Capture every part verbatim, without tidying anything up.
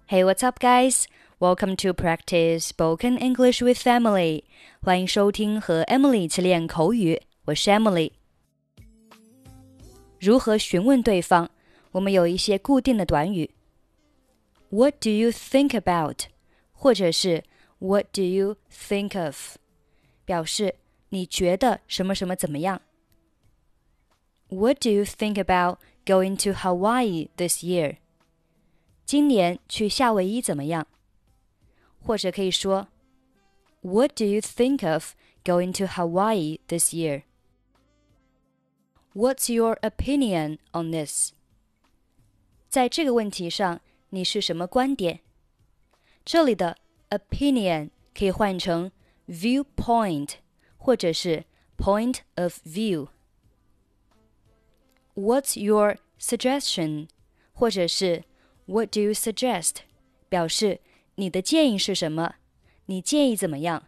Hey, what's up, guys? Welcome to practice spoken English with Emily. 欢迎收听和 Emily 一起练口语，我是 Emily。如何询问对方？我们有一些固定的短语。What do you think about? 或者是 What do you think of? 表示你觉得什么什么怎么样。What do you think about going to Hawaii this year? 今年去夏威夷怎么样？或者可以说 What do you think of going to Hawaii this year? What's your opinion on this? 在这个问题上，你是什么观点？这里的 opinion 可以换成 viewpoint 或者是 point of view. What's your suggestion? 或者是What do you suggest? 表示你的建议是什么？你建议怎么样？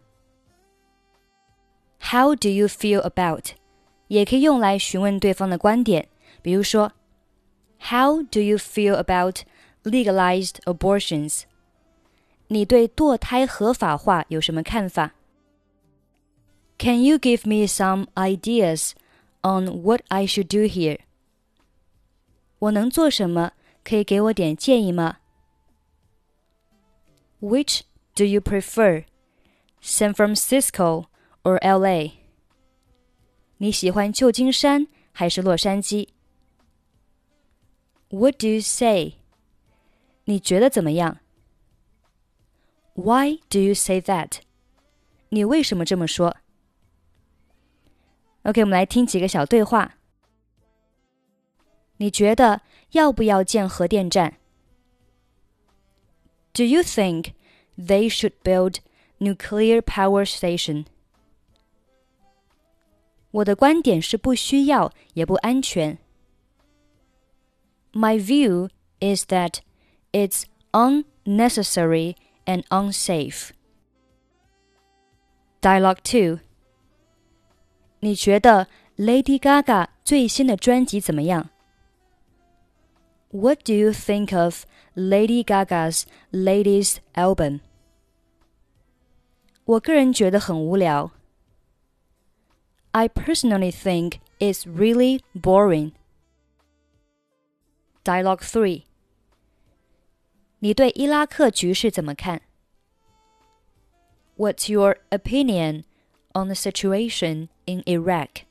How do you feel about? 也可以用来询问对方的观点，比如说 How do you feel about legalized abortions? 你对堕胎合法化有什么看法？ Can you give me some ideas on what I should do here? 我能做什么？可以给我点建议吗？ Which do you prefer, San Francisco or L A? 你喜欢旧金山还是洛杉矶？ What do you say? 你觉得怎么样？ Why do you say that? 你为什么这么说？ OK, 我们来听几个小对话。你觉得要不要建核电站？ Do you think they should build nuclear power station? 我的观点是不需要也不安全。My view is that it's unnecessary and unsafe. Dialogue two. 你觉得 Lady Gaga 最新的专辑怎么样？What do you think of Lady Gaga's latest album? 我个人觉得很无聊。I personally think it's really boring. Dialogue three. 你对伊拉克局势怎么看？ What's your opinion on the situation in Iraq?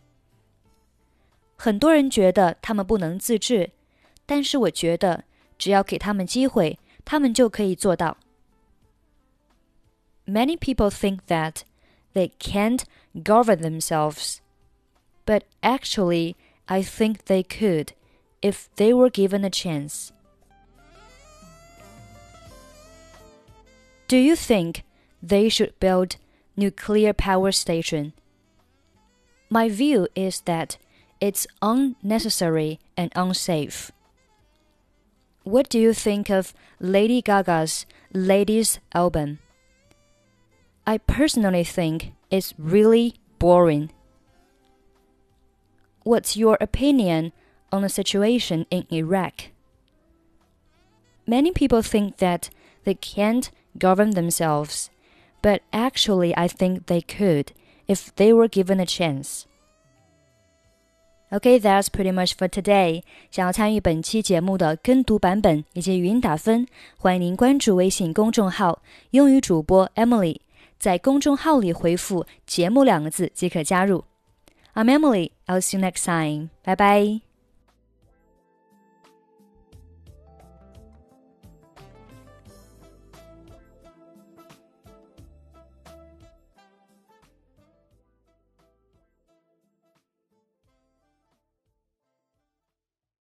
很多人觉得他们不能自治，但是我觉得只要给他们机会，他们就可以做到。Many people think that they can't govern themselves, but actually, I think they could if they were given a chance. Do you think they should build nuclear power station? My view is that it's unnecessary and unsafe. What do you think of Lady Gaga's latest album? I personally think it's really boring. What's your opinion on the situation in Iraq? Many people think that they can't govern themselves, but actually I think they could if they were given a chance. Okay, that's pretty much for today. 想要参与本期节目的跟读版本以及语音打分，欢迎您关注微信公众号英语主播 Emily， 在公众号里回复节目两个字即可加入。I'm Emily, I'll see you next time. Bye bye.